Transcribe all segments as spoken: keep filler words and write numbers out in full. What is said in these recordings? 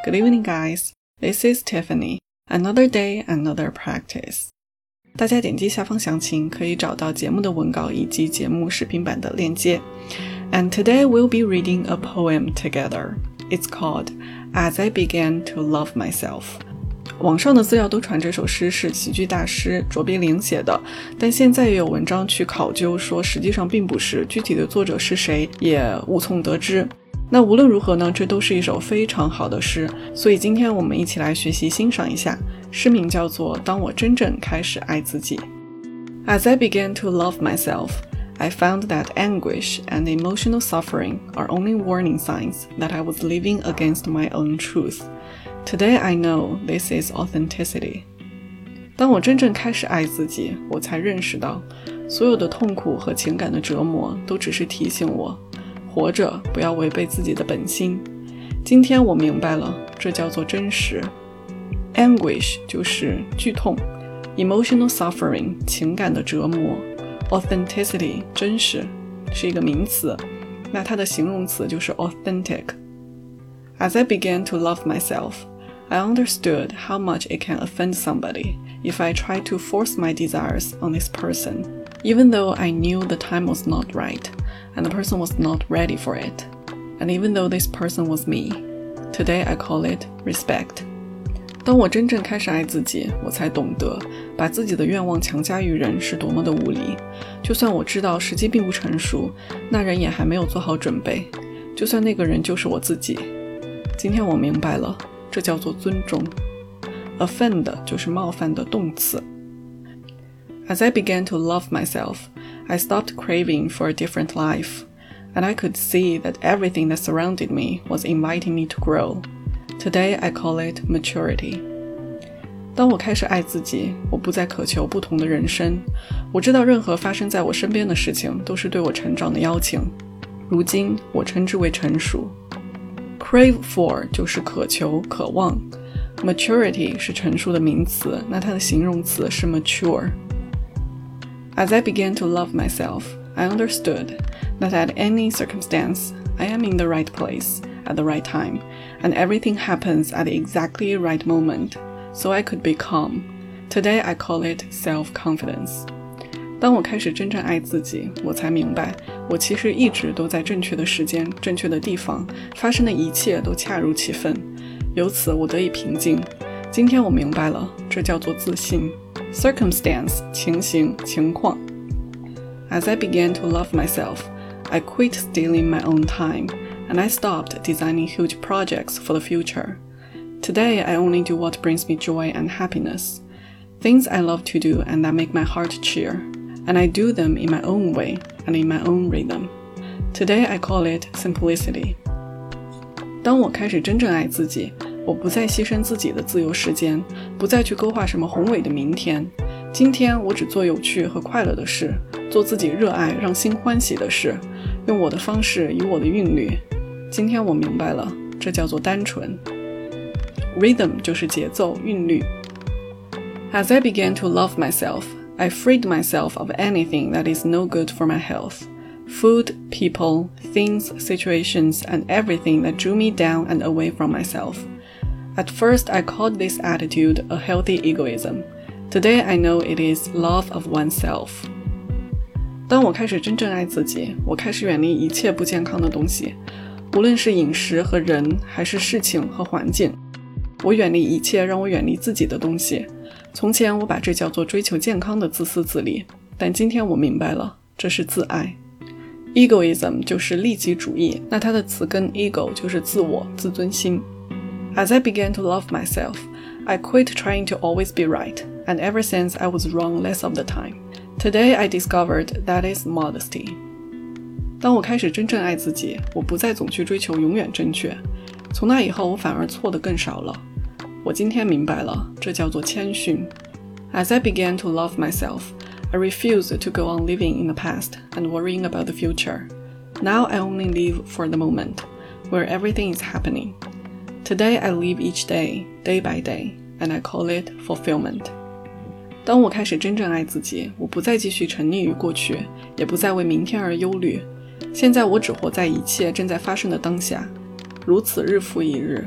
Good evening, guys. This is Tiffany. Another day, another practice. 大家点击下方详情可以找到节目的文稿以及节目视频版的链接。And today we'll be reading a poem together. It's called As I Began to Love Myself. 网上的资料都传这首诗是喜剧大师卓别林写的，但现在也有文章去考究说实际上并不是，具体的作者是谁也无从得知。那无论如何呢，这都是一首非常好的诗，所以今天我们一起来学习欣赏一下。诗名叫做当我真正开始爱自己。 As I began to love myself, I found that anguish and emotional suffering are only warning signs that I was living against my own truth. Today I know this is authenticity. 当我真正开始爱自己，我才认识到所有的痛苦和情感的折磨都只是提醒我活着不要违背自己的本心。今天我明白了，这叫做真实。 Anguish 就是剧痛， Emotional suffering 情感的折磨， Authenticity 真实是一个名词，那它的形容词就是 authentic。 As I began to love myself, I understood how much it can offend somebody if I try to force my desires on this person, even though I knew the time was not right and the person was not ready for it, and even though this person was me. Today I call it respect. 当我真正开始爱自己，我才懂得把自己的愿望强加于人是多么的无理。就算我知道时机并不成熟，那人也还没有做好准备，就算那个人就是我自己。今天我明白了，这叫做尊重。 Offend 就是冒犯的动词。 As I began to love myself, I stopped craving for a different life, and I could see that everything that surrounded me was inviting me to grow. Today I call it maturity. 当我开始爱自己，我不再渴求不同的人生。我知道任何发生在我身边的事情都是对我成长的邀请。如今我称之为成熟。 Crave for 就是渴求、渴望。 Maturity 是成熟的名词，那它的形容词是 mature。 As I began to love myself, I understood that at any circumstance, I am in the right place at the right time, and everything happens at the exactly right moment, so I could be calm. Today I call it self-confidence. 当我开始真正爱自己，我才明白，我其实一直都在正确的时间、正确的地方，发生的一切都恰如其分，由此我得以平静。今天我明白了，这叫做自信。 Circumstance 情形、情况。 As I began to love myself, I quit stealing my own time, and I stopped designing huge projects for the future. Today I only do what brings me joy and happiness, things I love to do and that make my heart cheer, and I do them in my own way and in my own rhythm. Today I call it simplicity. 当我开始真正爱自己，我不再牺牲自己的自由时间，不再去勾画什么宏伟的明天。今天我只做有趣和快乐的事，做自己热爱让心欢喜的事，用我的方式，以我的韵律。今天我明白了，这叫做单纯。 Rhythm 就是节奏、韵律。 As I began to love myself, I freed myself of anything that is no good for my health. Food, people, things, situations, and everything that drew me down and away from myself. At first, I called this attitude a healthy egoism. Today, I know it is love of oneself. 当我开始真正爱自己，我开始远离一切不健康的东西，无论是饮食和人，还是事情和环境。我远离一切让我远离自己的东西。从前我把这叫做追求健康的自私自利，但今天我明白了，这是自爱。 Egoism 就是利己主义，那它的词根 ego 就是自我、自尊心。 As I began to love myself, I quit trying to always be right, and ever since I was wrong less of the time. Today I discovered that is modesty. 当我开始真正爱自己，我不再总去追求永远正确，从那以后我反而错得更少了。我今天明白了，这叫做谦逊。 As I began to love myself, I refused to go on living in the past and worrying about the future. Now I only live for the moment, where everything is happening. Today I live each day, day by day, and I call it fulfillment. 当我开始真正爱自己，我不再继续沉溺于过去，也不再为明天而忧虑。现在我只活在一切正在发生的当下，如此日复一日。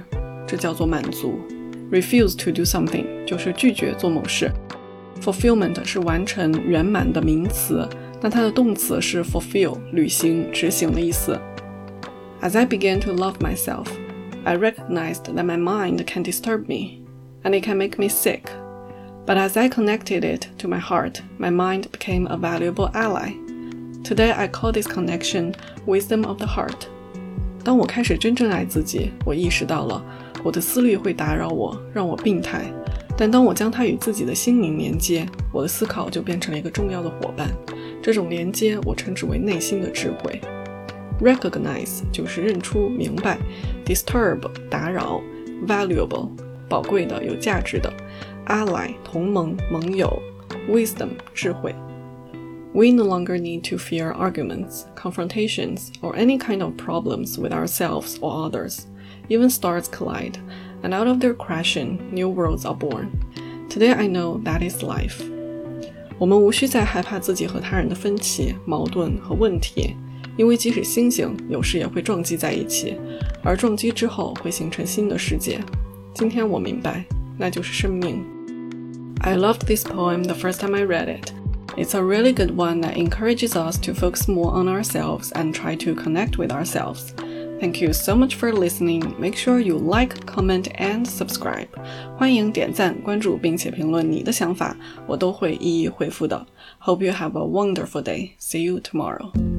这叫做满足。Refuse to do something 就是拒绝做某事。Fulfillment 是完成圆满的名词，那它的动词是 fulfill 履行执行的意思。As I began to love myself, I recognized that my mind can disturb me, and it can make me sick. But as I connected it to my heart, my mind became a valuable ally. Today I call this connection wisdom of the heart. 当我开始真正爱自己，我意识到了我的思虑会打扰我，让我病态。但当我将它与自己的心灵连接，我的思考就变成了一个重要的伙伴。这种连接我称之为内心的智慧。Recognize 就是认出、明白， disturb 打扰， valuable 宝贵的、有价值的， ally 同盟、盟友， wisdom 智慧。We no longer need to fear arguments, confrontations, or any kind of problems with ourselves or others. Even stars collide, and out of their crashing, new worlds are born. Today I know that is life. 我们无需再害怕自己和他人的分歧、矛盾和问题，因为即使星星有时也会撞击在一起，而撞击之后会形成新的世界。今天我明白，那就是生命。I loved this poem the first time I read it.It's a really good one that encourages us to focus more on ourselves and try to connect with ourselves. Thank you so much for listening. Make sure you like, comment, and subscribe. 欢迎点赞、关注并且评论你的想法，我都会一一回复的。Hope you have a wonderful day. See you tomorrow.